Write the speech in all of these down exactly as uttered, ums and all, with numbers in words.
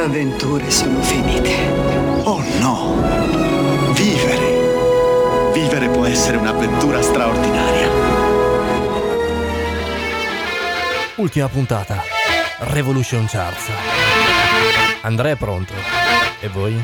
avventure sono finite. Oh no! Vivere! Vivere può essere un'avventura straordinaria. Ultima puntata. Revolution Charts. Andrea è pronto. E voi?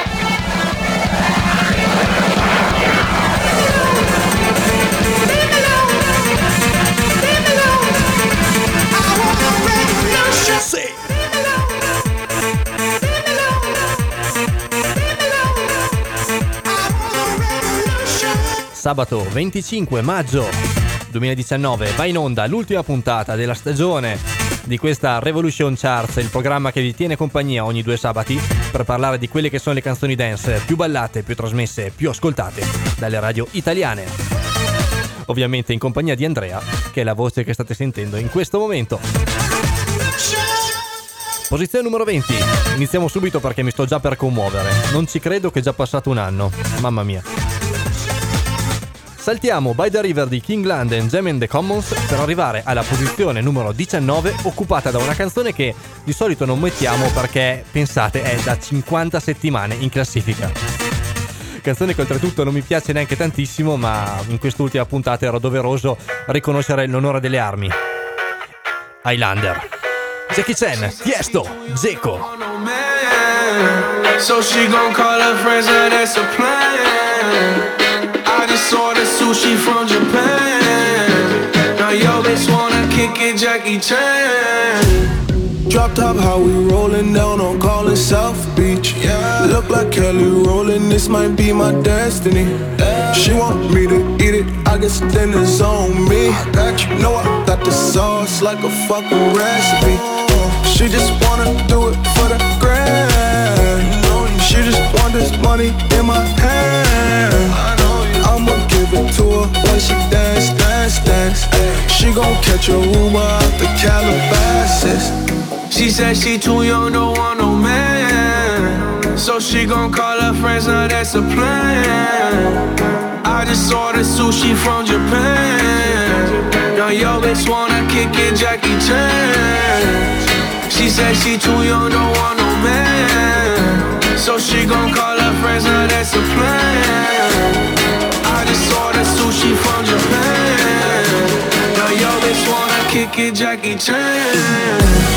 Sabato venticinque maggio duemiladiciannove va in onda l'ultima puntata della stagione di questa Revolution Charts, il programma che vi tiene compagnia ogni due sabati per parlare di quelle che sono le canzoni dance più ballate, più trasmesse, più ascoltate dalle radio italiane. Ovviamente in compagnia di Andrea, che è la voce che state sentendo in questo momento. Posizione numero venti. Iniziamo subito perché mi sto già per commuovere. Non ci credo che è già passato un anno. Mamma mia. Saltiamo By the River di King Land and Jam and the Commons per arrivare alla posizione numero diciannove, occupata da una canzone che di solito non mettiamo perché, pensate, è da cinquanta settimane in classifica. Canzone che oltretutto non mi piace neanche tantissimo, ma in quest'ultima puntata era doveroso riconoscere l'onore delle armi. Highlander. Jackie Chan, Tiesto, Dzeko. So she gon' call her friends and that's a plan. I just ordered sushi from Japan. Now yo bitch wanna kick it, Jackie Chan. Drop top, how we rollin' down on Collins South Beach. Yeah. Look like Kelly rollin', this might be my destiny. Yeah. She want me to eat it, I guess then it's on me. I got you, know I got the sauce like a fucking recipe. She just wanna do it for the grand. She just want this money in my hand. I'ma give it to her when she dance, dance, dance. She gon' catch a Uber out the Calabasas. She said she too young, don't want no man. So she gon' call her friends, now that's a plan. I just ordered sushi from Japan. Now yo bitch wanna kick it, Jackie Chan. She said she too young, don't want no man. So she gon' call her friends, now that's a plan. I just ordered sushi from Japan. Now yo bitch wanna kick it, Jackie Chan.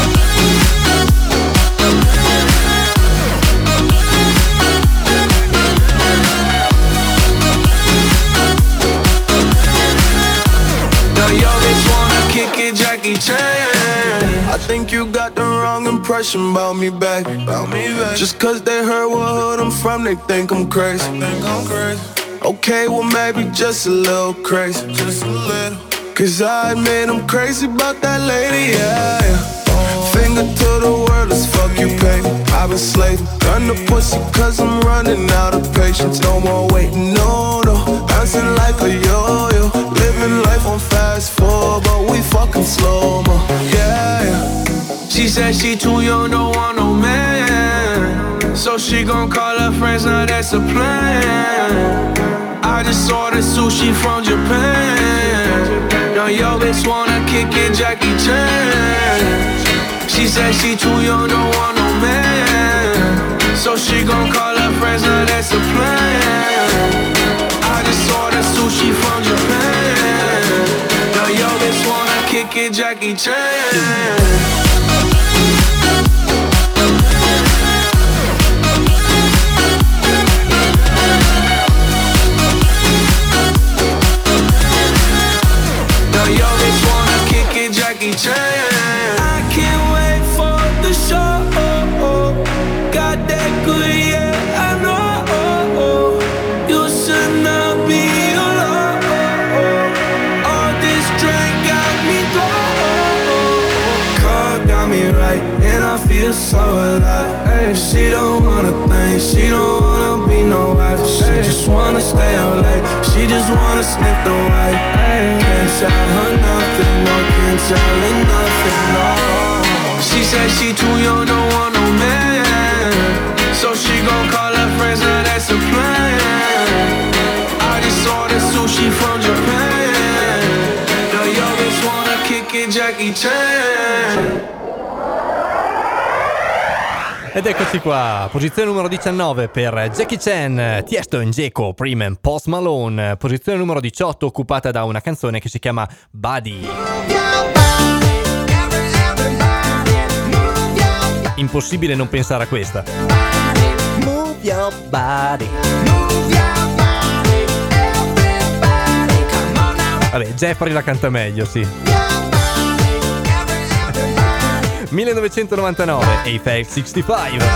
Jackie Chan. I think you got the wrong impression about me back. About me back. Just cause they heard what hood I'm from, they think I'm crazy. They think I'm crazy. Okay, well maybe just a little crazy. Just a little. Cause I admit I'm crazy about that lady, yeah, yeah. Finger to the world, let's fuck you, baby. I've been slaving, done the pussy cause I'm running out of patience. No more waiting, no, no. Bouncing like a yo-yo. Living life on fast forward, but we fucking slow-mo, yeah, yeah. She said she too young, don't want no man. So she gon' call her friends, now that's a plan. I just ordered sushi from Japan. Now yo bitch wanna kick it, Jackie Chan. She said she too young, don't want no man. So she gon' call her friends, now that's a plan. I just ordered sushi from Japan. Now yo bitch wanna kick it, Jackie Chan. Jackie Chan. I can't wait for the show. Got that good, yeah, I know. You should not be alone. All this drink got me low. Car got me right, and I feel so alive. Hey, she don't wanna think, she don't wanna be no wife. She just wanna stay out late, she just wanna sniff the white. Hey, can't tell her nothing, no, can't tell her nothing, no. She said she too young, don't want no man. So she gon' call her friends, now that's a plan. I just ordered sushi from Japan. Now yo bitch wanna kick it, Jackie Chan. Ed eccoci qua, posizione numero diciannove per Jackie Chan, Tiesto e Dzeko, prima in Post Malone. Posizione numero diciotto occupata da una canzone che si chiama Buddy. Impossibile non pensare a questa. Move your body. Vabbè, Jeffrey la canta meglio, sì. millenovecentonovantanove, Aphex sessantacinque.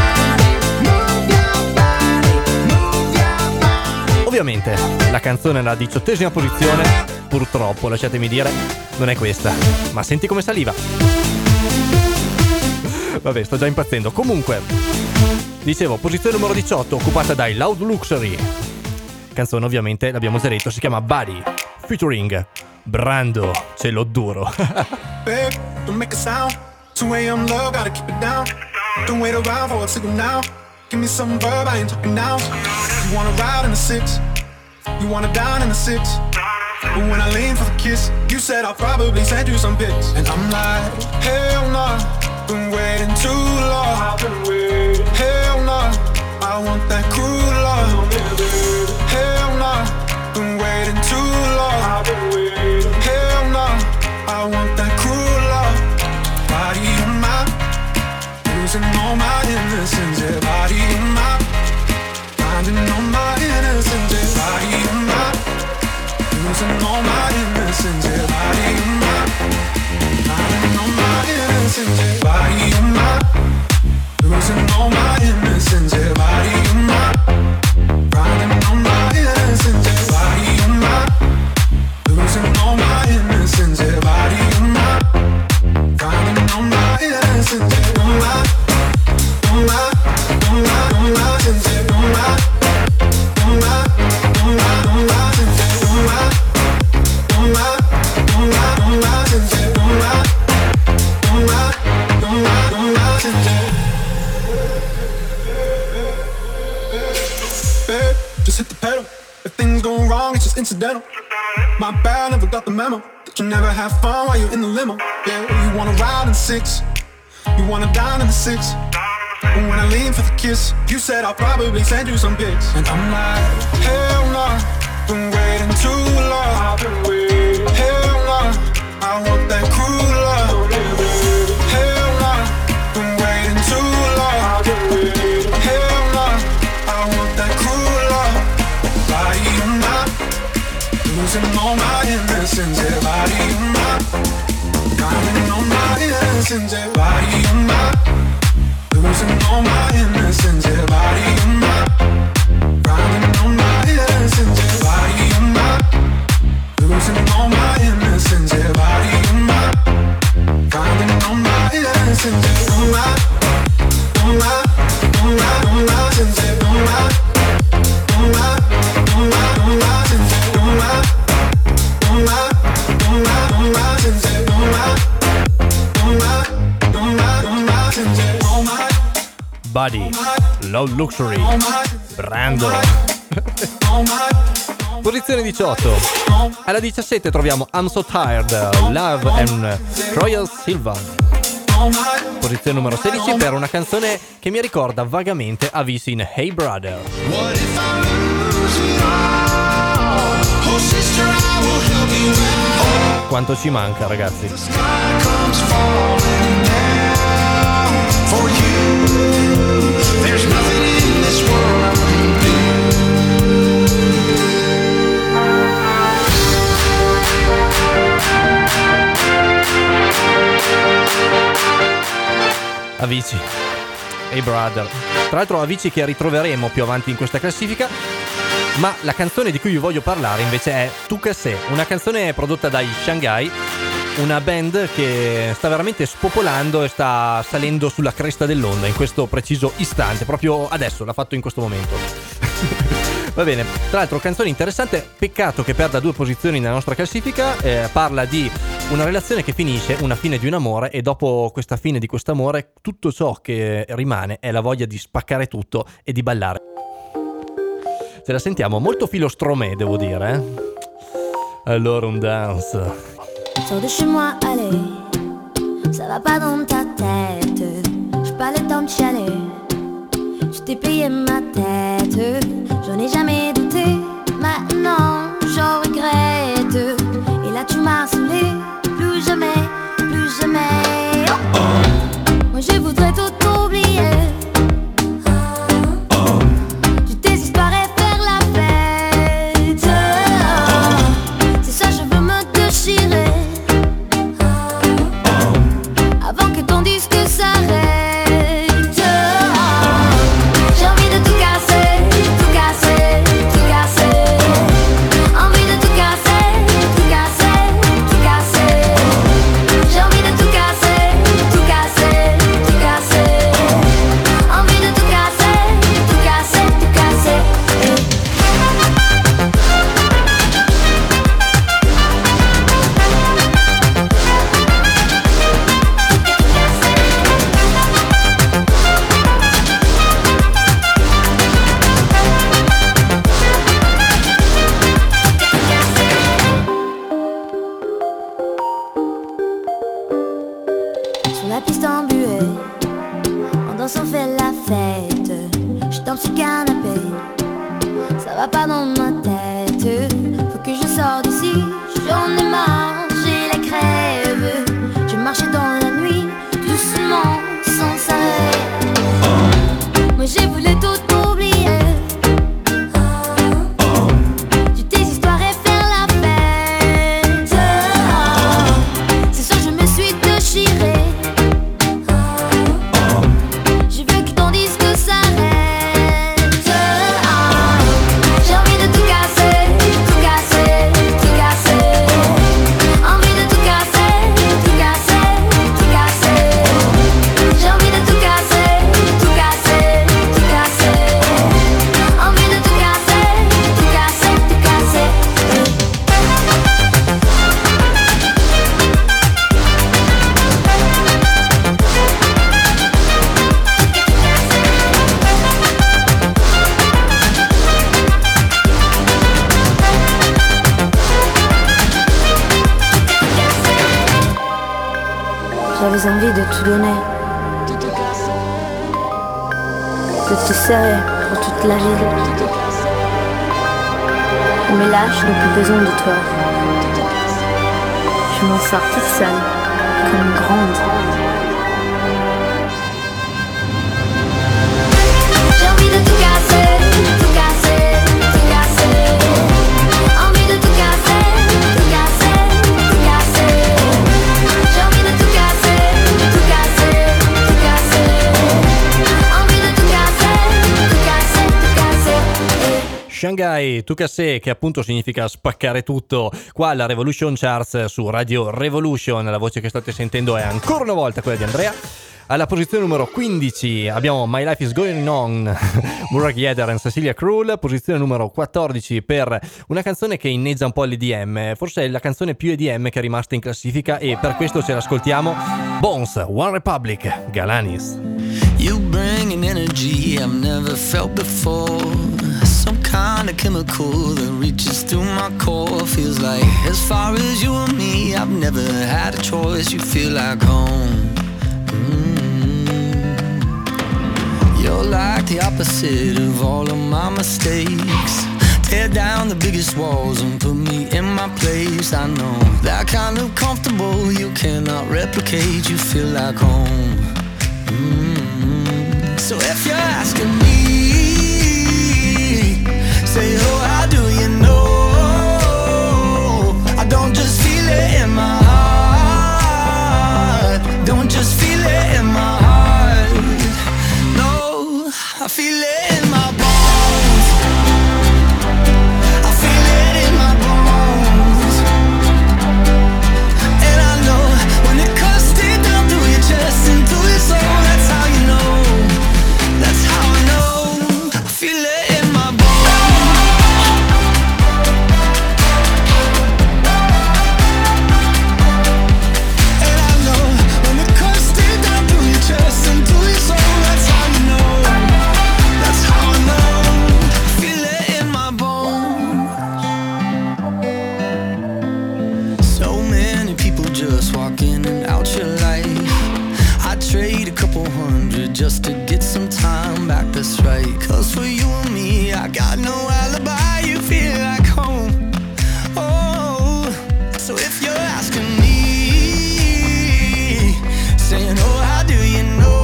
Ovviamente la canzone alla diciottesima posizione, purtroppo, lasciatemi dire, non è questa. Ma senti come saliva. Vabbè, sto già impazzendo. Comunque, dicevo, posizione numero diciotto occupata dai Loud Luxury. Canzone ovviamente, l'abbiamo già detto, si chiama Buddy, featuring Brando, cielo duro. Babe, don't make a sound. two a.m. love, gotta keep it down. Don't wait around for a signal now. Give me some verb, I ain't talking now. You wanna ride in the six, you wanna dine in the six. But when I lean for the kiss, you said I'll probably send you some pics. And I'm like, hell nah, been waiting too long. Hell nah, I want that cruel love. Hell nah, been waiting too long. Hell nah, I want that cruel love. Body on my, losing all my innocence. Yeah, body on my, finding all my innocence. Yeah, body on my, losing all my innocence. Yeah, body on my, finding all my innocence. Yeah, body on my, losing all my innocence. Yeah, body on my, finding all my innocence. Yeah, body on my, losing all my innocence. Yeah, body on my, finding all my innocence. Yeah, on my, on my, on my, on my innocence. Yeah, on my, on my, on my, on my innocence. Yeah, on my, on my, on my, on my innocence. Yeah, on my, on my, on my, on my innocence. Babe, just hit the pedal. If things go wrong, it's just incidental. My bad, never got the memo that you never have fun while you're in the limo. Yeah, you wanna ride in six, you wanna dine in the six. But when I lean for the kiss, you said I'll probably send you some pics. And I'm like, hell nah, been waiting too long. Hell nah, I want that cruel love. Hell nah, been waiting too long. Hell nah, I want that cruel love. Body on my, losing all my innocence. Yeah, body on my, finding all my innocence. Yeah, body on my, losing all my innocence. Yeah, body on my, finding all my innocence. Yeah, body on my, losing all my innocence. Yeah, body on my, finding all my innocence. Yeah, on my, on my, on my, on my innocence. Yeah, on my, on my, on my, on my innocence. Yeah, on my, on my, on my, on my innocence. Yeah, on my, on my, on my, on my innocence. Yeah, on my. Buddy, Low Luxury, Brando. Posizione diciotto. Alla diciassette troviamo I'm So Tired, Love and Royal Silvan. Posizione numero sedici per una canzone che mi ricorda vagamente Avicii in Hey Brother. Quanto ci manca, ragazzi. Avicii, Hey Brother. Tra l'altro Avicii che ritroveremo più avanti in questa classifica. Ma la canzone di cui vi voglio parlare invece è Tu che sei, una canzone prodotta dai Shanghai, una band che sta veramente spopolando e sta salendo sulla cresta dell'onda in questo preciso istante, proprio adesso, l'ha fatto in questo momento. Va bene, tra l'altro canzone interessante, peccato che perda due posizioni nella nostra classifica, eh, parla di una relazione che finisce, una fine di un amore, e dopo questa fine di quest'amore tutto ciò che rimane è la voglia di spaccare tutto e di ballare. Ce la sentiamo molto filo Stromae, devo dire, eh? Allora un dance. Sors de chez moi, allez, ça va pas dans ta tête. Je pas le temps de chialer. Je t'ai payé ma tête, j'en ai jamais douté. Maintenant j'en regrette. Et là tu m'as saoulé. Plus jamais, plus jamais. Oh. Moi je voudrais tout oublier. Toutes tes histoires et faire la fête. C'est ça, je veux me déchirer avant que ton disque s'arrête. J'ai envie de tout casser, tout casser, tout casser. Envie de tout casser, tout casser, tout casser. J'ai envie de tout casser, tout casser, tout casser. Envie de tout casser, tout casser, tout casser. Sur la piste embuée, en dansant fait la fête. Je tombe sur le canapé, ça va pas dans ma tête. Faut que je sorte d'ici, j'en ai marre, j'ai la crève. Je marchais dans la nuit, doucement, sans s'arrêt. Moi j'ai voulu tout oublier. Toutes tes histoires et faire la fête. C'est ça, je me suis déchirée. Je veux que ton disque s'arrête. J'ai envie de tout casser, tout casser, tout casser. Envie de tout casser, tout casser, tout casser. J'ai envie de tout casser, tout casser, tout casser. Envie de tout casser, tout casser, tout casser. J'avais envie de tout donner, de te serrer pour toute la vie. Mais là, je n'ai plus besoin de toi. Je m'en sors toute seule, comme une grande. J'ai envie de tout casser, tout casser, tout casser. Envie de tout casser, tout casser, tout casser. J'ai envie de tout casser, tout casser, tout casser. Envie de tout casser, tout casser, tout casser. Shanghai Tukase, che appunto significa spaccare tutto, qua alla Revolution Charts su Radio Revolution. La voce che state sentendo è ancora una volta quella di Andrea. Alla posizione numero quindici abbiamo My Life Is Going On, Murak Yedder e Cecilia Krull. Posizione numero quattordici per una canzone che inneggia un po' all'E D M, forse è la canzone più E D M che è rimasta in classifica e per questo ce l'ascoltiamo. Bones, One Republic, Galanis. You bring an energy I've never felt before. Some kind of chemical that reaches through my core. Feels like as far as you and me, I've never had a choice. You feel like home. You're like the opposite of all of my mistakes. Tear down the biggest walls and put me in my place. I know that kind of comfortable you cannot replicate. You feel like home. Mm-hmm. So if you're asking me, say, oh, how do you know? I don't just feel it in my heart. Don't just feel it in my heart. I feel it in my bones. I feel it in my bones. And I know when it cuts deep down through your chest and through your soul. That's how you know. That's how I know. I feel it in my bones. And I know when it cuts deep down through your chest and through your soul. That's how you know. Just walk in and out your life. I'd trade a couple hundred just to get some time back, that's right. Cause for you and me, I got no alibi, you feel like home. Oh, so if you're asking me, saying, oh, how do you know?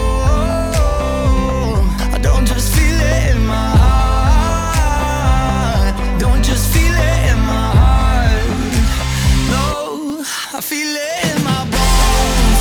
I don't just feel it in my heart. Don't just feel it in my heart. No, I feel it in my bones.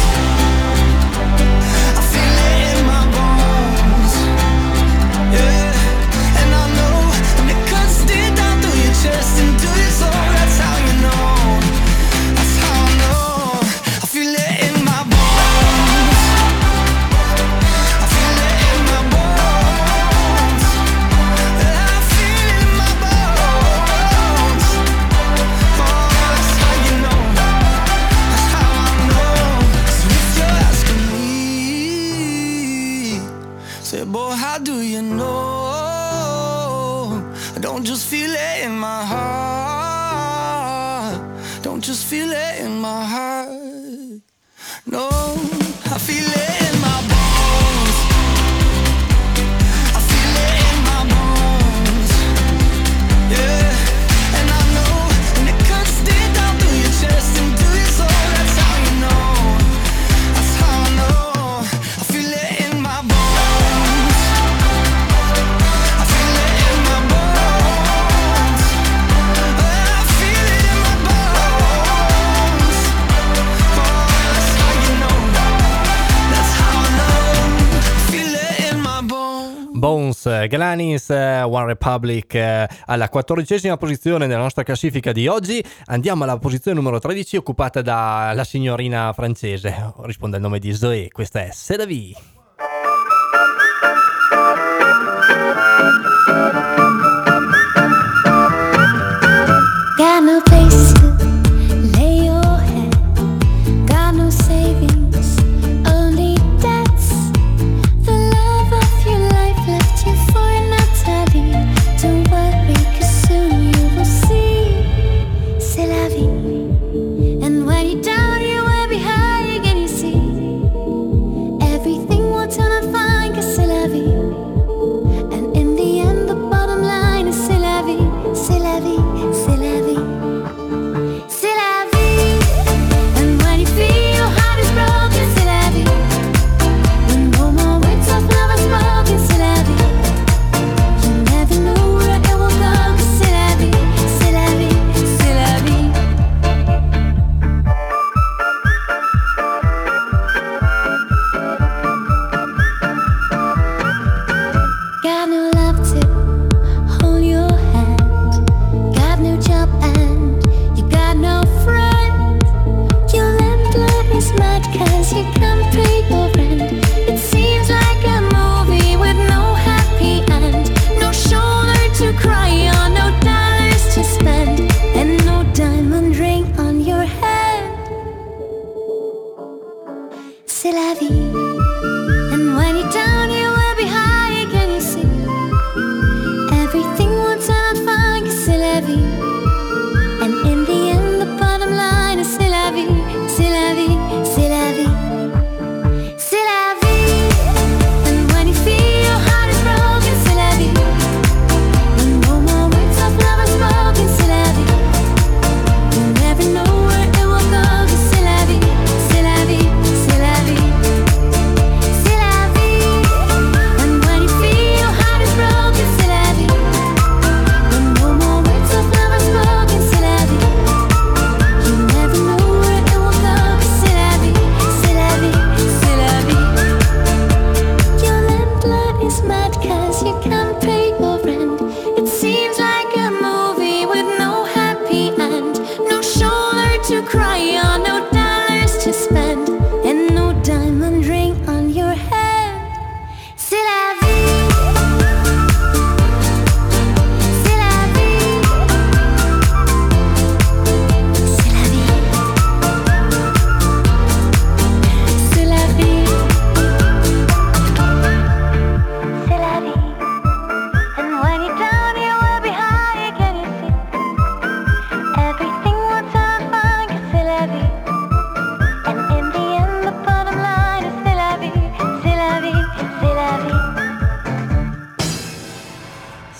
I feel it in my bones. Yeah, and I know when it cuts deep down through your chest into your soul. That's how you know. That's how I know. I feel it in my bones. I feel it in my bones. I feel it in my bones. Oh, that's how you know. That's how I know. So if you're asking me, say, boy, how do you know? I don't just feel it in my heart. Don't just feel it in my heart. No, I feel it in my bones. I feel it in my bones. Yeah, and I know when it cuts deep down through your chest into your soul. That's how you know. That's how I know. I feel it in my bones. I feel it in my bones. I feel it in my bones. Oh, that's how you know. That's how I know. Feel it in my bones. Bones, eh, Galanis, eh, One Republic eh, alla quattordicesima posizione della nostra classifica di oggi. Andiamo alla posizione numero tredici, occupata dalla signorina francese, risponde al nome di Zoé. Questa è C'est la vie. Got no place to lay your head. Got no savings, only debts. The love of your life left you for Natalie. Don't worry, 'cause soon you will see. C'est la vie. And when you're down, you will be high again, you see. Everything will turn out fine, 'cause c'est la vie. And in the end, the bottom line is c'est la vie, c'est la vie, c'est la vie. C'est la vie. And when you feel your heart is broken, c'est la vie. When no more words of love are spoken, c'est la vie. You never know where it will go, 'cause c'est la vie, c'est la vie, c'est la vie. Got no love to hold your hand. Got no job and you got no friend. Your landlord is mad 'cause you can't pay your rent. It seems like a movie with no happy end. No shoulder to cry on, no dollars to spend, and no diamond ring on your head. C'est la vie. And when you're down, you will be high again, you see. Everything will turn out fine, 'cause c'est la vie. And in the end, the bottom line is c'est la vie, c'est la vie, c'est la vie. C'est la vie. And when you feel your heart is broken, c'est la vie. When no more words of love are spoken, c'est la vie. You never know where it will go, 'cause c'est la vie, c'est la vie, c'est la vie.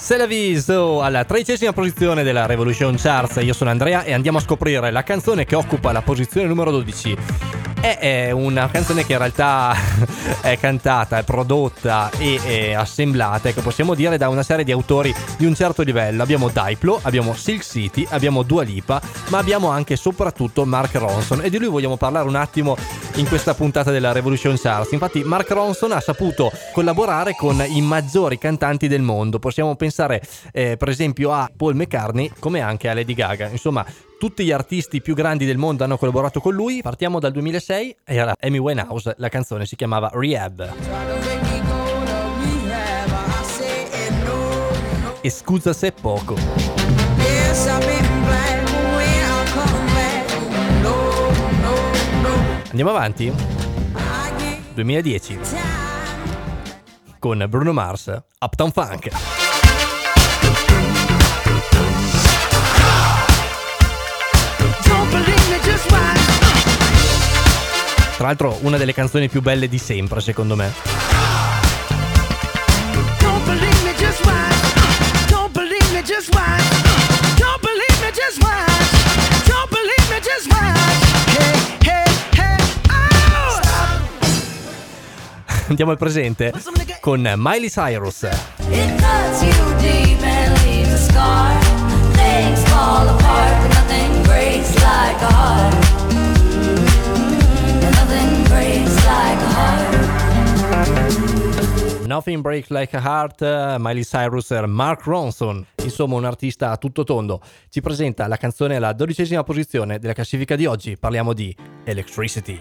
C'est la viso alla tredicesima posizione della Revolution Charts. Io sono Andrea e andiamo a scoprire la canzone che occupa la posizione numero dodici. È una canzone che in realtà è cantata, è prodotta e è assemblata, che possiamo dire, da una serie di autori di un certo livello. Abbiamo Diplo, abbiamo Silk City, abbiamo Dua Lipa, ma abbiamo anche e soprattutto Mark Ronson, e di lui vogliamo parlare un attimo in questa puntata della Revolution Charts. Infatti Mark Ronson ha saputo collaborare con i maggiori cantanti del mondo. Possiamo pensare eh, per esempio a Paul McCartney, come anche a Lady Gaga. Insomma, tutti gli artisti più grandi del mondo hanno collaborato con lui. Partiamo dal duemilasei, era Amy Winehouse, la canzone si chiamava Rehab. E scusa se è poco. Andiamo avanti. duemiladieci con Bruno Mars, Uptown Funk. Tra l'altro una delle canzoni più belle di sempre, secondo me. Don't believe me, just watch. Don't believe me, just watch. Don't believe me, just watch. Don't believe me, just watch. Hey, hey, hey, oh! Andiamo al presente con Miley Cyrus. It cuts you deep and leaves a scar. Things fall apart, but nothing breaks like a heart. Nothing breaks like a heart. Nothing Breaks Like a Heart, Miley Cyrus e Mark Ronson. Insomma, un artista a tutto tondo. Ci presenta la canzone alla dodicesima posizione della classifica di oggi. Parliamo di Electricity.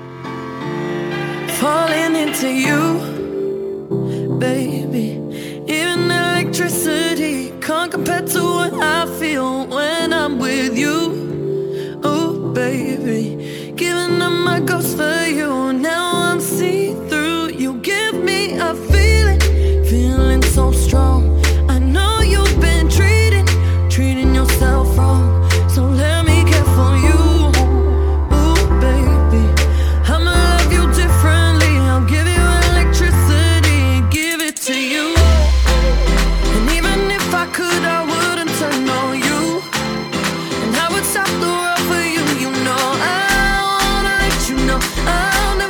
Falling into you, baby. Even electricity can't compare to what I feel when I'm with you. Oh, baby, giving up my ghost for you. Now I'm see-through. You give me a feeling, feeling so strong. I know you've been treating, treating yourself wrong. So let me care for you. Oh, baby, I'ma love you differently. I'll give you electricity, give it to you. And even if I could, I wouldn't turn on you. And I would stop the world for you. You know I wanna let you know I'll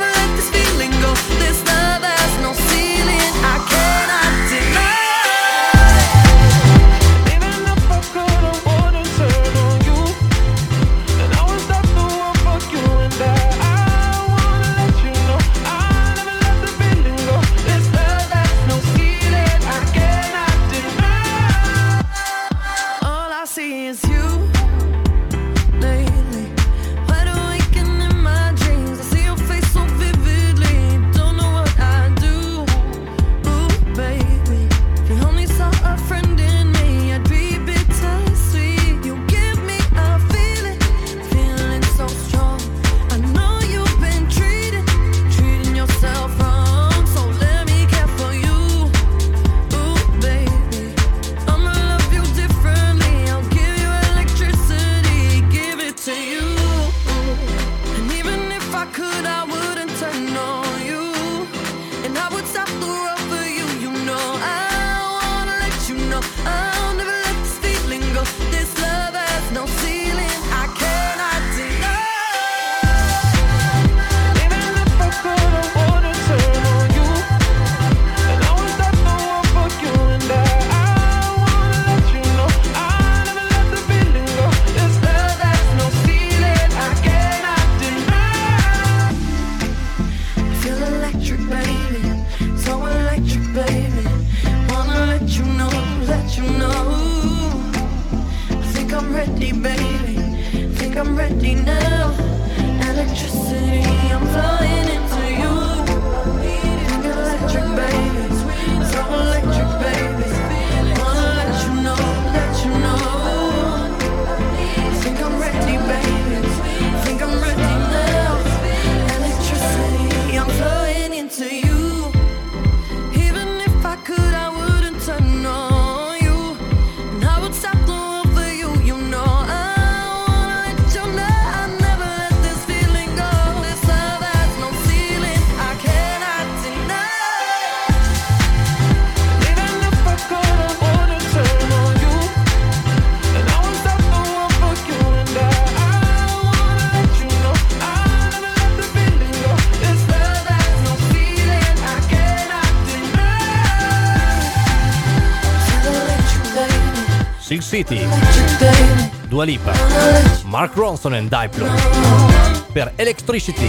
City, Dua Lipa, Mark Ronson e Diplo per Electricity,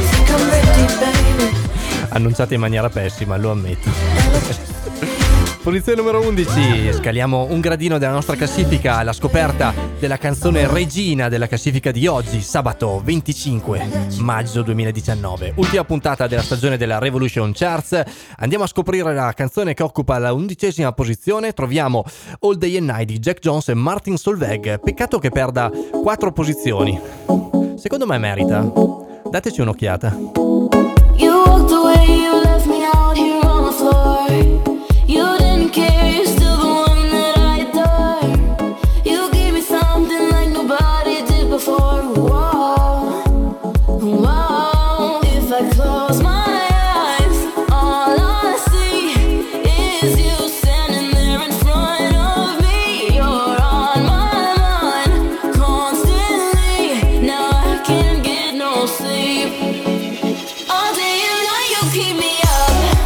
annunciata in maniera pessima, lo ammetto. Posizione numero undici, scaliamo un gradino della nostra classifica alla scoperta della canzone regina della classifica di oggi, sabato venticinque maggio duemiladiciannove, ultima puntata della stagione della Revolution Charts. Andiamo a scoprire la canzone che occupa la undicesima posizione. Troviamo All Day and Night di Jack Jones e Martin Solveig. Peccato che perda quattro posizioni. Secondo me merita. Dateci un'occhiata. You walked away, you left me out here on the floor. You didn't care, you're still the one that I adore. You gave me something like nobody did before. Whoa, whoa. If I close my eyes, all I see is you standing there in front of me. You're on my mind constantly. Now I can't get no sleep. All day and night you keep me up.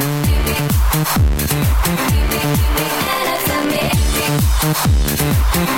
We'll be right back.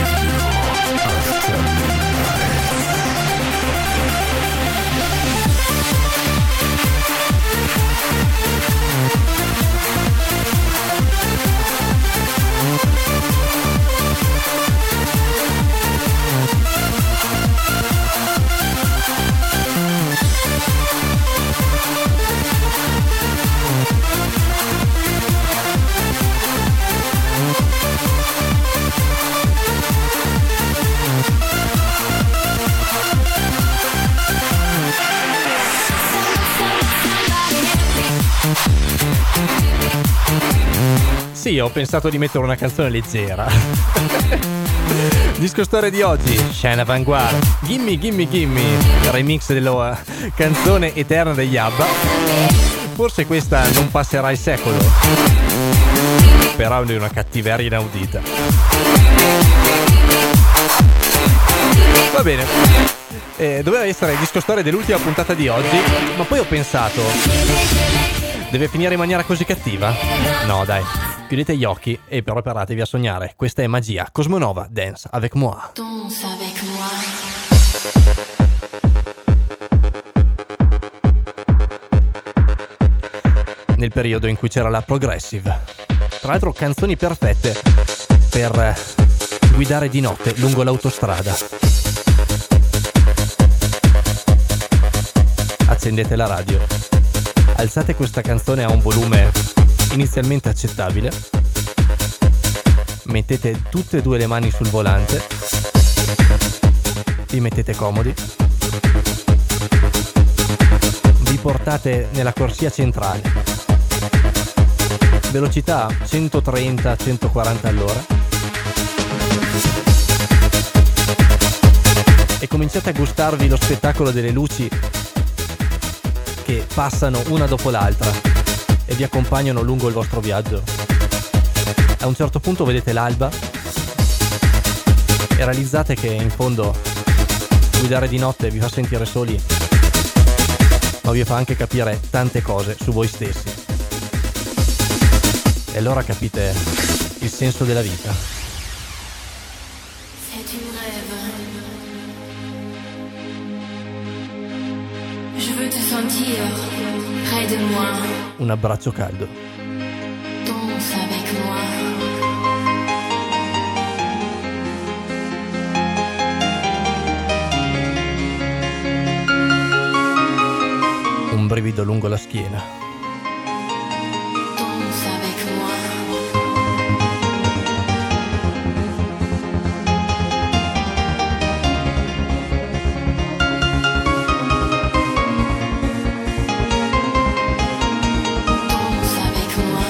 Sì, ho pensato di mettere una canzone leggera. Disco storia di oggi, Scena Vanguard, Gimme Gimme Gimme, remix della canzone eterna degli ABBA. Forse questa non passerà il secolo, però è una cattiveria inaudita. Va bene, eh, doveva essere il disco storia dell'ultima puntata di oggi, ma poi ho pensato, deve finire in maniera così cattiva? No dai, chiudete gli occhi e però preparatevi a sognare. Questa è magia. Cosmonova, Dance avec moi. Danse avec moi. Nel periodo in cui c'era la progressive. Tra l'altro canzoni perfette per guidare di notte lungo l'autostrada. Accendete la radio, alzate questa canzone a un volume inizialmente accettabile, mettete tutte e due le mani sul volante, vi mettete comodi, vi portate nella corsia centrale, velocità centotrenta centoquaranta all'ora, e cominciate a gustarvi lo spettacolo delle luci che passano una dopo l'altra e vi accompagnano lungo il vostro viaggio. A un certo punto vedete l'alba e realizzate che in fondo guidare di notte vi fa sentire soli, ma vi fa anche capire tante cose su voi stessi. E allora capite il senso della vita. C'est un rêve. Je veux te sentir près de moi. Un abbraccio caldo. Danse avec moi. Un brivido lungo la schiena. Danse avec moi. Danse avec moi.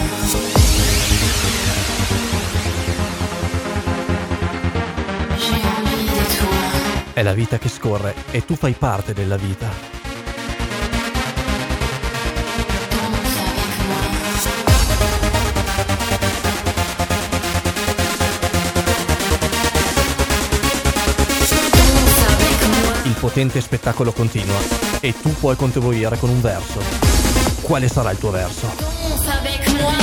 J'ai envie de toi. È la vita che scorre e tu fai parte della vita. Danse avec moi. Danse avec moi. Il potente spettacolo continua e tu puoi contribuire con un verso. Quale sarà il tuo verso? Danse avec moi.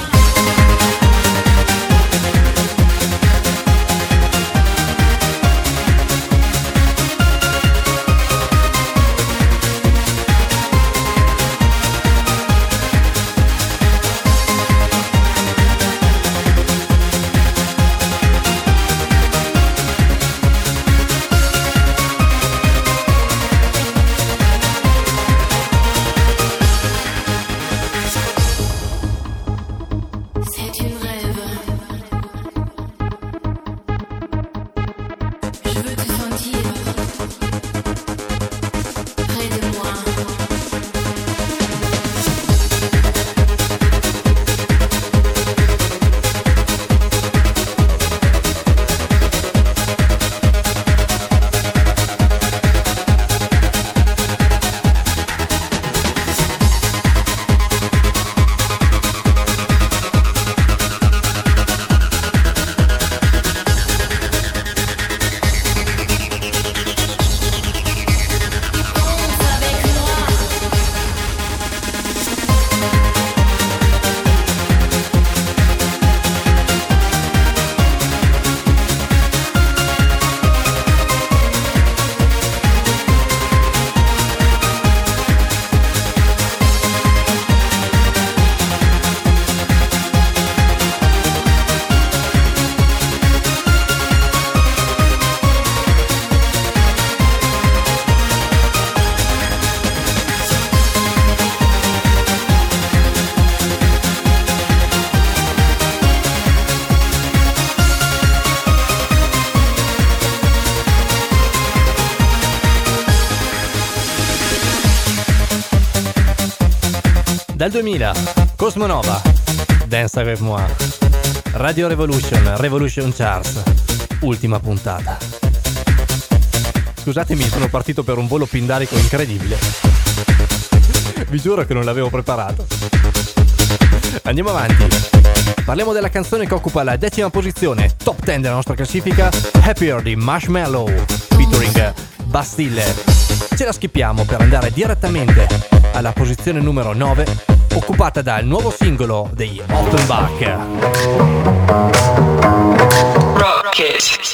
C'est un rêve. Je veux te sentir près de moi. Dal duemila, Cosmonova, Dance Avec Moi. Radio Revolution, Revolution Charts, ultima puntata. Scusatemi, sono partito per un volo pindarico incredibile. Vi giuro che non l'avevo preparato. Andiamo avanti. Parliamo della canzone che occupa la decima posizione, top dieci della nostra classifica, Happier di Marshmello, featuring Bastille. Ce la skippiamo per andare direttamente alla posizione numero nove, occupata dal nuovo singolo dei Offenbach. Rocket.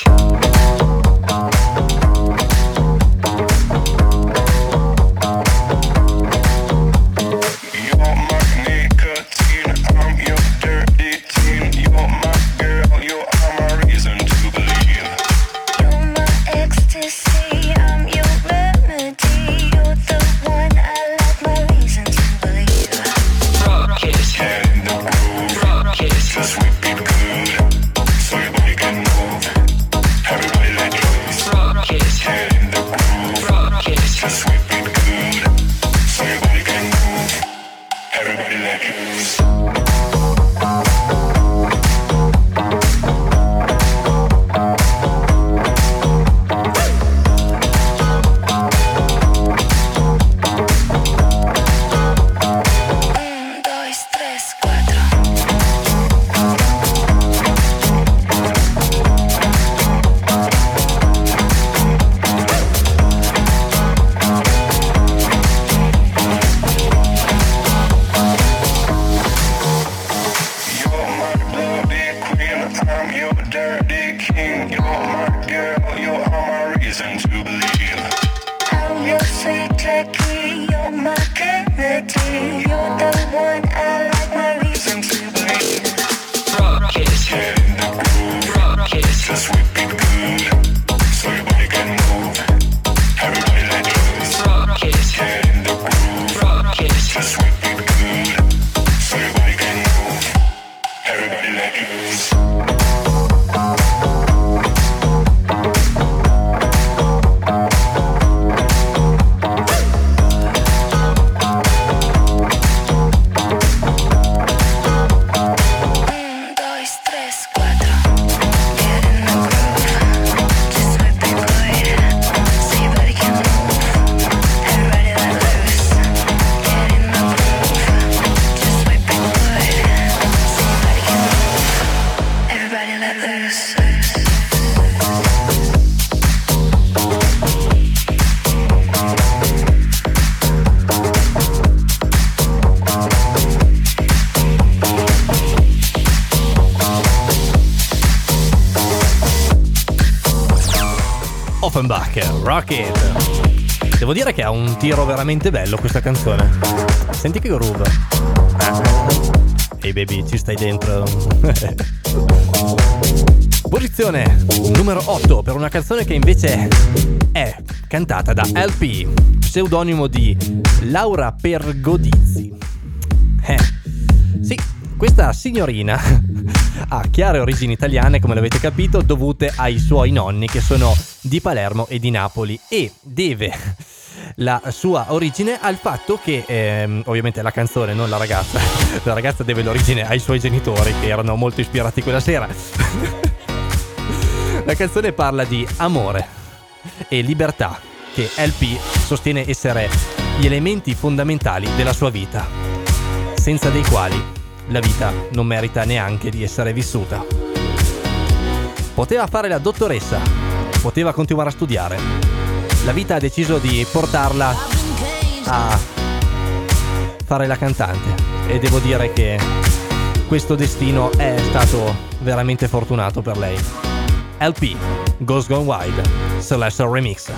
Offenbach, Rocket. Devo dire che ha un tiro veramente bello questa canzone. Senti che groove. Ehi hey baby, ci stai dentro. Posizione numero otto per una canzone che invece è cantata da L P, pseudonimo di Laura Pergodizi. Eh, sì, questa signorina ha chiare origini italiane, come l'avete capito, dovute ai suoi nonni che sono di Palermo e di Napoli, e deve la sua origine al fatto che ehm, ovviamente la canzone, non la ragazza, la ragazza deve l'origine ai suoi genitori che erano molto ispirati quella sera. La canzone parla di amore e libertà, che L P sostiene essere gli elementi fondamentali della sua vita, senza dei quali la vita non merita neanche di essere vissuta. Poteva fare la dottoressa, poteva continuare a studiare. La vita ha deciso di portarla a fare la cantante, e devo dire che questo destino è stato veramente fortunato per lei. L P, Ghost Gone Wild, Celestial Remix.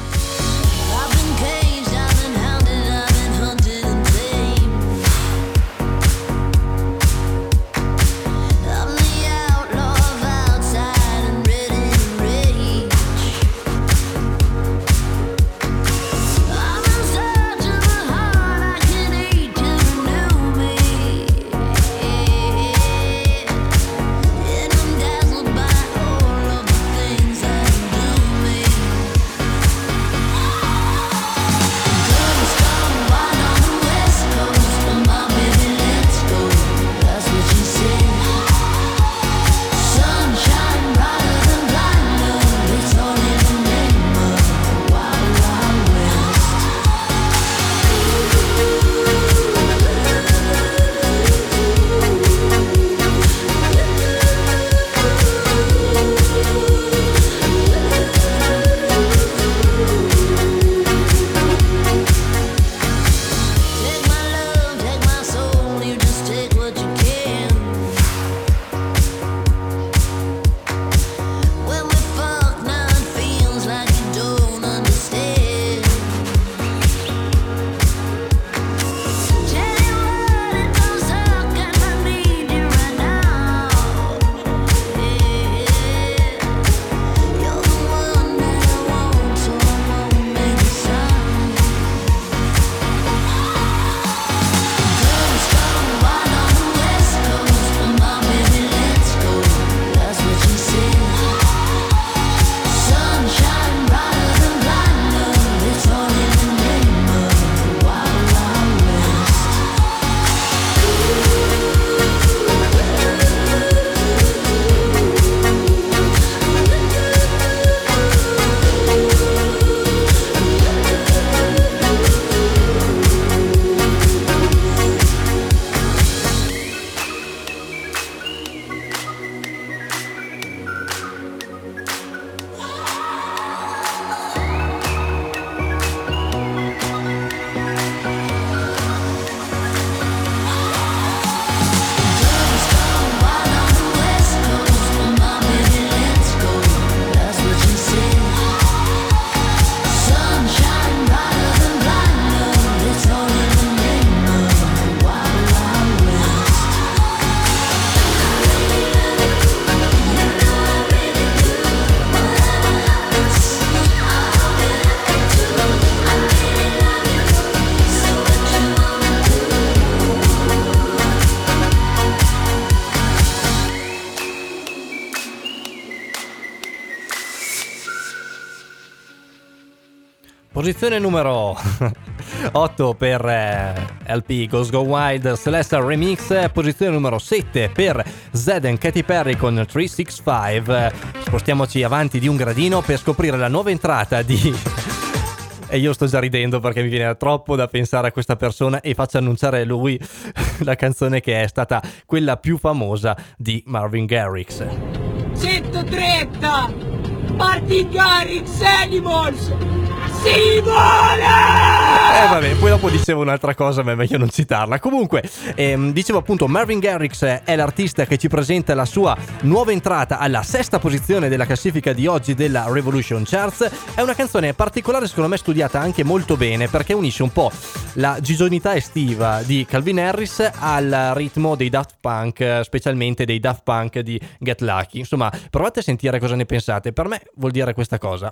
Posizione numero otto per eh, L P Ghost Go Wild Celestial Remix. Posizione numero sette per Zedd and Katy Perry con tre sei cinque. Spostiamoci avanti di un gradino per scoprire la nuova entrata di... E io sto già ridendo perché mi viene troppo da pensare a questa persona e faccio annunciare a lui la canzone che è stata quella più famosa di Marvin Garrix. centotrenta Marvin Garrix Animals si vola! Eh vabbè, poi dopo dicevo un'altra cosa, ma è meglio non citarla. Comunque, ehm, dicevo appunto, Marvin Garrix è l'artista che ci presenta la sua nuova entrata alla sesta posizione della classifica di oggi della Revolution Charts. È una canzone particolare, secondo me studiata anche molto bene, perché unisce un po' la gigionità estiva di Calvin Harris al ritmo dei Daft Punk, specialmente dei Daft Punk di Get Lucky. Insomma, provate a sentire cosa ne pensate. Per me vuol dire questa cosa.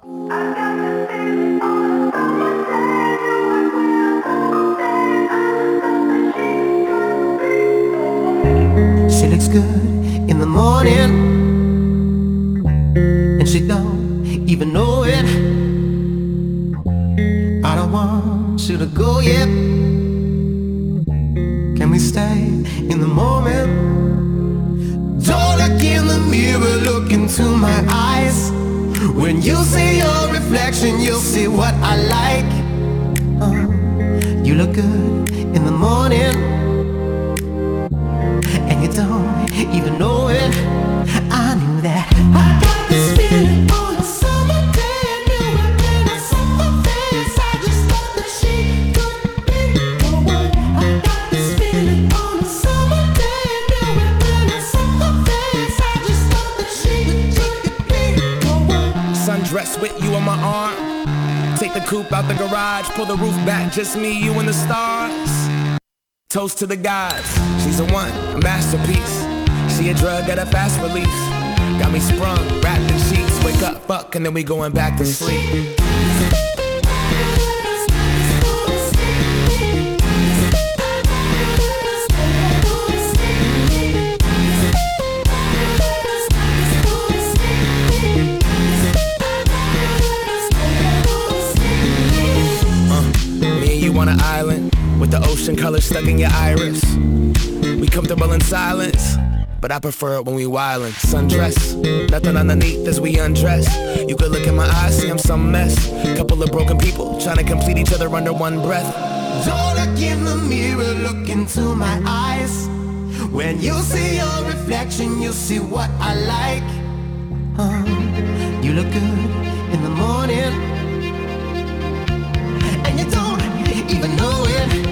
She looks good in the morning, and she don't even know it. I don't want you to go yet. Can we stay in the moment? Don't look in the mirror, look into my eyes. When you see your reflection, you'll see what I like. uh, You look good in the morning, and you don't even know it. I knew that. I got this feeling on a summer day. I knew it when I saw her face. I just thought that she could be the one. I got this feeling on a summer day. I knew it when I saw her face. I just thought that she could be the one. Sundress with you on my arm. Take the coupe out the garage. Pull the roof back, just me, you and the stars. Toast to the gods, she's a one, a masterpiece. She a drug at a fast release. Got me sprung, wrapped in sheets. Wake up, fuck, and then we going back to sleep. uh, Me and you on an island with the ocean color stuck in your iris. We comfortable in silence, but I prefer it when we wildin'. Sundress, nothing underneath as we undress. You could look in my eyes, see I'm some mess. Couple of broken people trying to complete each other under one breath. Don't look in the mirror, look into my eyes. When you see your reflection, you'll see what I like. uh, You look good in the morning, and you don't even know it.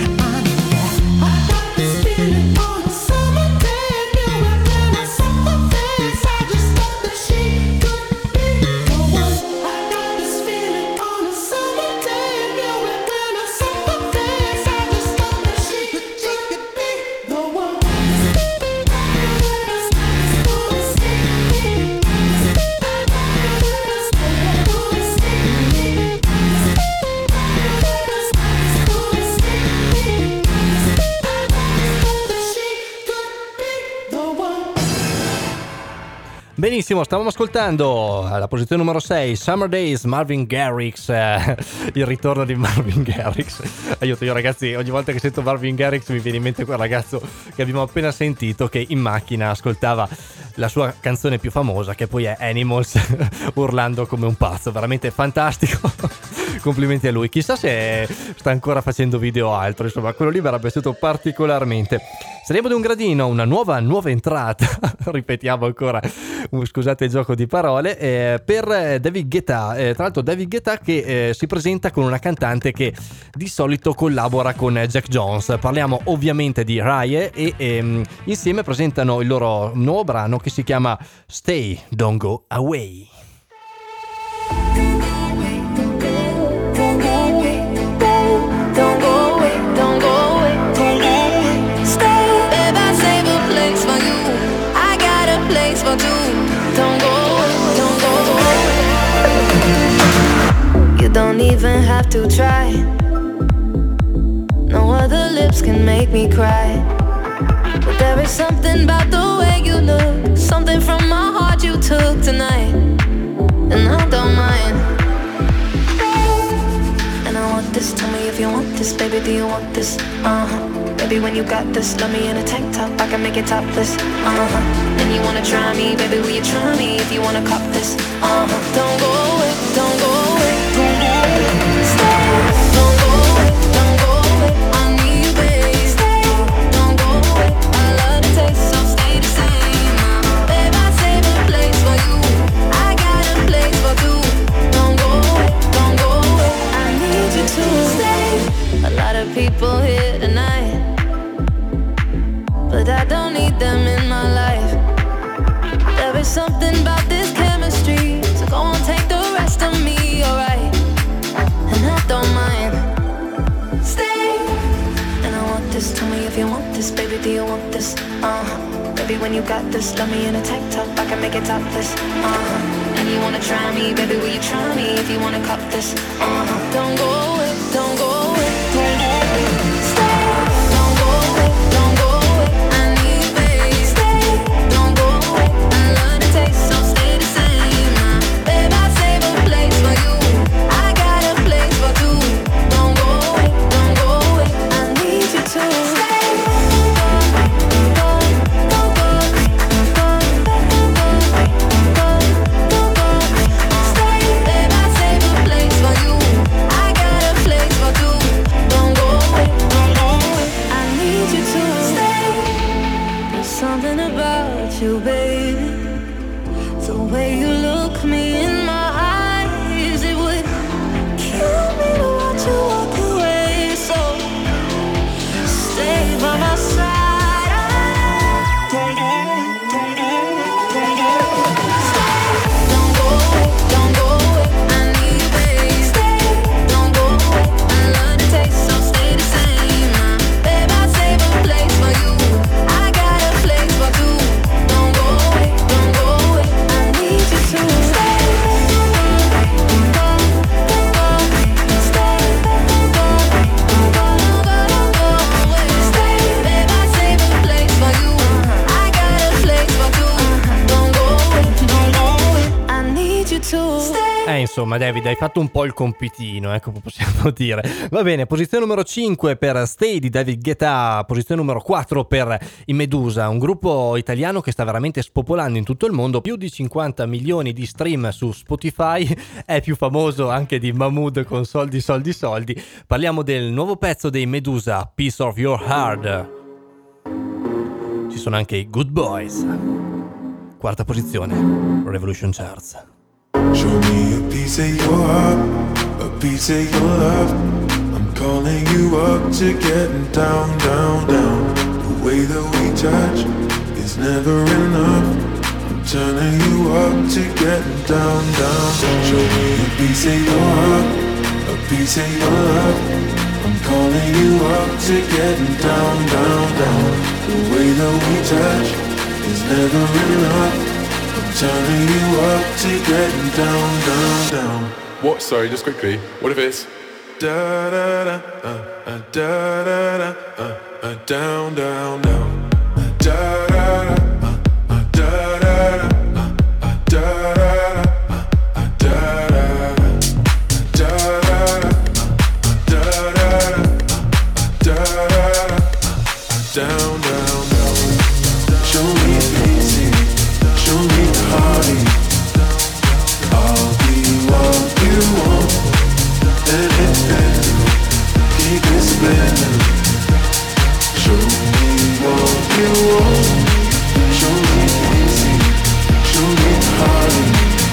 Benissimo, stavamo ascoltando alla posizione numero sei Summer Days, Marvin Garrix, eh, il ritorno di Marvin Garrix. Aiuto, io ragazzi, ogni volta che sento Marvin Garrix mi viene in mente quel ragazzo che abbiamo appena sentito che in macchina ascoltava la sua canzone più famosa, che poi è Animals, urlando come un pazzo, veramente fantastico. Complimenti a lui, chissà se sta ancora facendo video o altro, insomma quello lì mi era piaciuto particolarmente. Saliamo di un gradino, una nuova nuova entrata, ripetiamo ancora, scusate il gioco di parole, eh, per David Guetta. Eh, tra l'altro David Guetta che eh, si presenta con una cantante che di solito collabora con Jack Jones. Parliamo ovviamente di Rye e ehm, insieme presentano il loro nuovo brano che si chiama Stay, Don't Go Away. Don't even have to try. No other lips can make me cry. But there is something about the way you look, something from my heart you took tonight, and I don't mind. do you want this? Uh-huh. Baby, when you got this, love me in a tank top, I can make it topless. Uh-huh. And you wanna try me, baby, will you try me if you wanna cop this? Uh-huh. Don't go away, don't go away, don't go away. Stay, don't go away, don't go away. I need you, babe. Stay, don't go away. I love the taste, so stay the same. Uh, babe, I save a place for you. I got a place for two. Don't go away, don't go away. I need you to stay. A lot of people here tonight, but I don't need them in my life. There is something about this chemistry, so go on, take the rest of me, alright? And I don't mind. Stay. And I want this, tell me if you want this, baby, do you want this? Uh-huh. Baby, when you got this, love me in a tank top, I can make it topless. Uh-huh. And you wanna try me, baby, will you try me if you wanna cop this? Uh-huh. Don't go away, don't go away, don't go away. Stay. Don't go away, don't go away. I need you, babe. Stay. Don't go away. I love the taste, so stay the same. Uh, babe, I save a place for you. I got a place for two. Don't go away, don't go away. I need you to stay. Something about you, baby. The way you look me in my eyes, it would kill me to watch you walk away. So stay by my side. Don't go away, don't go away. I need you, babe. Stay. Don't go away. I love the taste, so stay the same. Uh, babe, I save a place for you. I got a place for two. Don't go away, don't go away. I need you to stay. Don't go, don't go, stay. Don't go, don't go, don't go, don't go away. Stay, babe, I save a place for you. I got a place for two. Don't go away, don't go away. I need you to stay. Eh, insomma, David, hai fatto un po' il compitino, ecco, possiamo dire. Va bene, posizione numero cinque per Stay di David Guetta, posizione numero quattro per i Medusa, un gruppo italiano che sta veramente spopolando in tutto il mondo, più di cinquanta milioni di stream su Spotify, è più famoso anche di Mahmood con Soldi, Soldi, Soldi. Parliamo del nuovo pezzo dei Medusa, Piece of Your Heart. Ci sono anche i Good Boys. Quarta posizione, Revolution Charts. Show me a piece of your heart, a piece of your love. I'm calling you up to getting down, down, down. The way that we touch is never enough. I'm turning you up to getting down, down, down. Show me a piece of your heart, a piece of your love. I'm calling you up to getting down, down, down. The way that we touch is never enough. Turning you up to getting down, down, down. What? Sorry, just quickly. What if it's da da da uh, uh, da da da uh, uh, down, down, down. Uh, da da da uh, uh, da da da uh, uh, da da da uh, da da da da da da da da down, down, down. Show me easy. Show me the hearty. I'll be what you want. Let it spin. Keep it spinning. Show me what you want. Show me easy. Show me the hearty.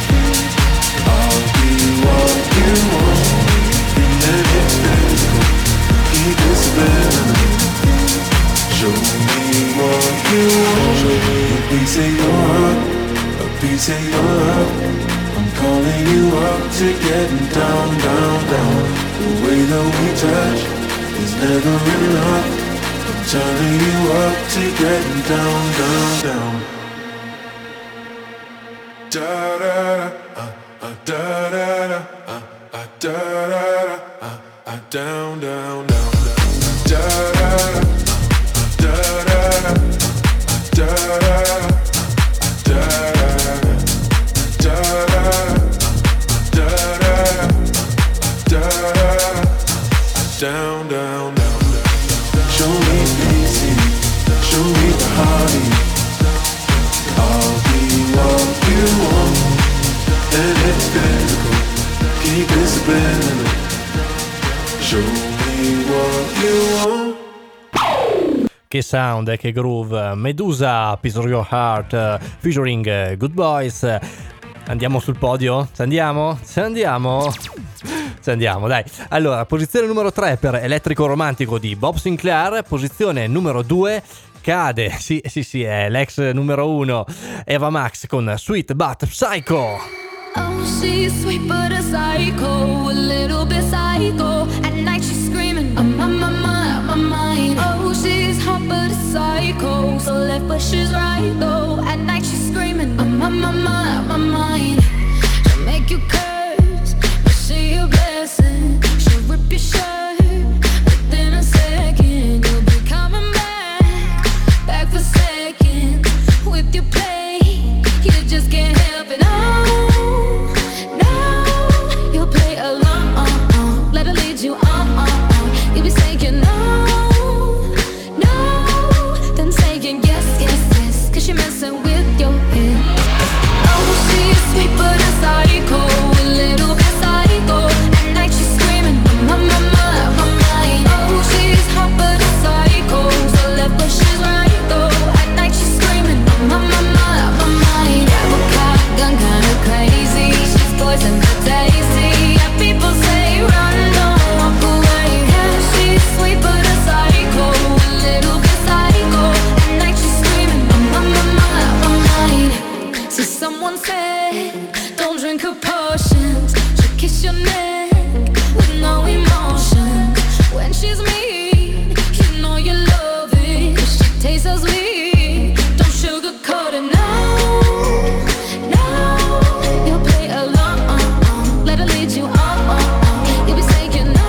I'll be what you want. Let it spin. Keep it spinning. Show me what you want. Show me a piece of your heart, a piece of your love. I'm calling you up to getting down, down, down. The way that we touch is never enough. I'm turning you up to getting down, down, down. Da da da, uh, uh, da da da, uh, uh, da da da, uh, uh, down, down, down, da da da. Da da da, da da da, da da da, da da da, da da da, down, down, down. spinning. Show me what you want. Che sound e che groove. Medusa, Piece of Your Heart, featuring uh, Good Boys. Andiamo sul podio? Ci andiamo? Ci andiamo? Ci andiamo, dai. Allora, posizione numero tre per Elettrico Romantico di Bob Sinclair. Posizione numero due cade, sì, sì, sì, è l'ex numero uno, Eva Max con Sweet But Psycho. Oh, she's sweet but a psycho, a little bit psycho. At night she's screaming, I'm on my mind, my mind. Oh, she's hot but a psycho, so left but she's right though. At night she's screaming, I'm on my mind, my mind. She'll make you curse, but she a blessing. She'll rip your shirt, within a second you'll be coming back, back for seconds with your play. You just can't help it. Oh, you on, on, on. You be saying no, no, then saying yes, yes, yes, cause you're messing with your head. Oh, she's sweet but a psycho, a little bit psycho. At night she's screaming, my, my, my, my mind. Oh, she's hot but a psycho, so left but she's right though. At night she's screaming, my, my, my, my mind. Yeah, we're caught, gone kinda crazy. She's poison but tasty. Yeah, people say run, no. Sweet but a psycho, a little bit psycho. At night she's screaming, my, my, my, my mind. So someone said, don't drink her potions. She'll kiss your neck with no emotion. When she's mean, you know you love it, cause she tastes so sweet. Don't sugarcoat it, no, no. You'll play along, let her lead you on. You'll be saying no.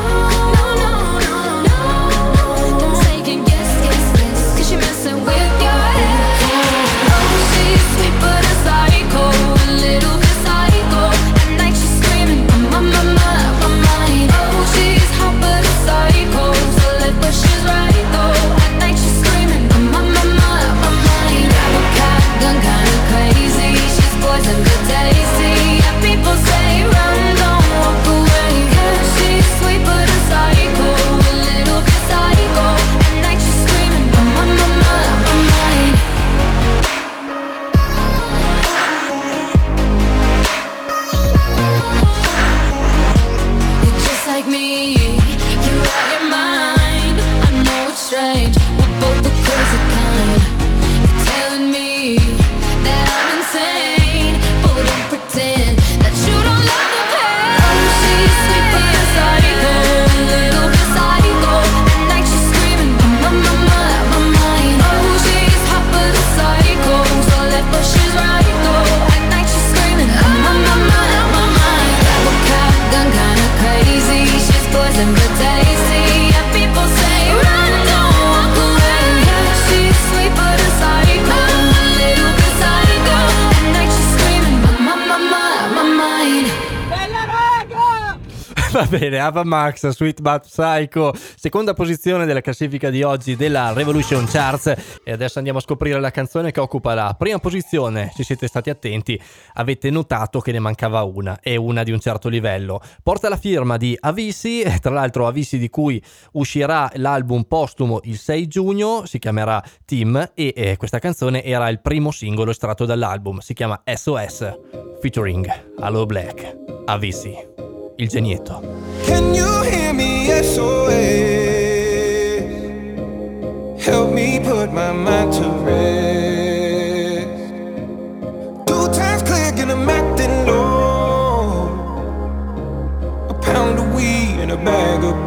Va bene, Ava Max, Sweet But Psycho, seconda posizione della classifica di oggi della Revolution Charts. E adesso andiamo a scoprire la canzone che occupa la prima posizione. Se siete stati attenti avete notato che ne mancava una, e una di un certo livello. Porta la firma di Avicii, tra l'altro Avicii di cui uscirà l'album postumo il sei giugno, si chiamerà Team, e eh, questa canzone era il primo singolo estratto dall'album, si chiama S O S, featuring Aloe Black, Avicii. Il genietto. Can you hear me? S O S. Help me put my mind to rest. Two times click and I'm acting low. A pound of weed and a bag of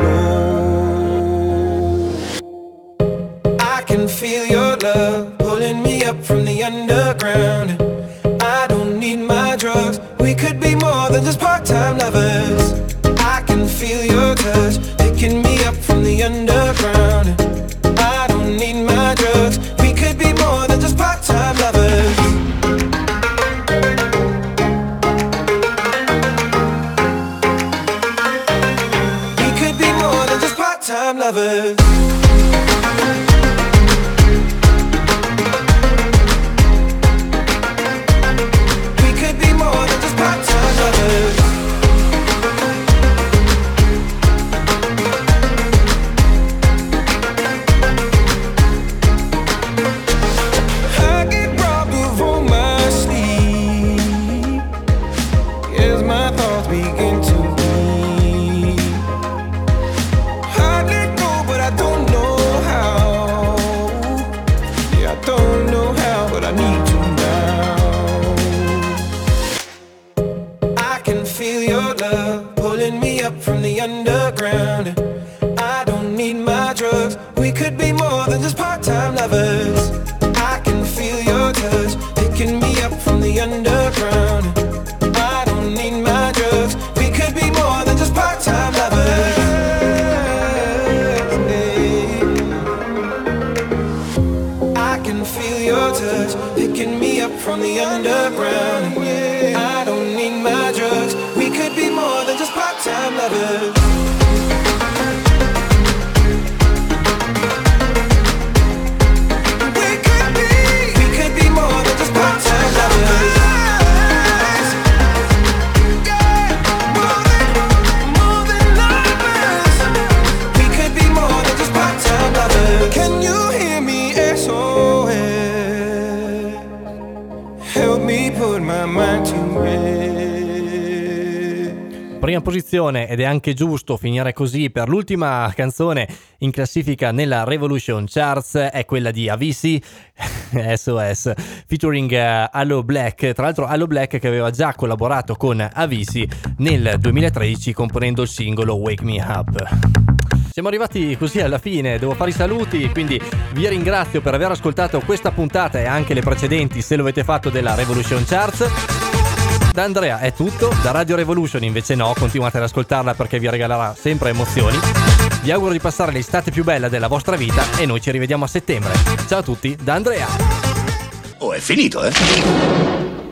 blow. I can feel your love pulling me up from the underground. I don't need my drugs. We could be more than just part-time lovers. I can feel your touch picking me up from the underground. I don't need my drugs. We could be more than just part-time lovers. We could be more than just part-time lovers. pulling me up from the underground. I don't need my drugs. We could be more than just part-time lovers. I can feel your touch picking me up from the underground. I don't need my drugs. We could be more than just part-time lovers. I can feel your touch picking me up from the underground. I don't need my drugs. We could be more than just part-time lovers. Can you hear me? S O S. Help me put my mind to rest. Prima posizione, ed è anche giusto finire così per l'ultima canzone in classifica nella Revolution Charts, è quella di Avicii, S O S, featuring uh, Aloe Blacc. Tra l'altro Aloe Blacc che aveva già collaborato con Avicii nel duemilatredici componendo il singolo Wake Me Up. Siamo arrivati così alla fine, devo fare i saluti, quindi vi ringrazio per aver ascoltato questa puntata e anche le precedenti se lo avete fatto della Revolution Charts. Da Andrea è tutto, da Radio Revolution invece no, continuate ad ascoltarla perché vi regalerà sempre emozioni. Vi auguro di passare l'estate più bella della vostra vita e noi ci rivediamo a settembre. Ciao a tutti, da Andrea. Oh, è finito, eh?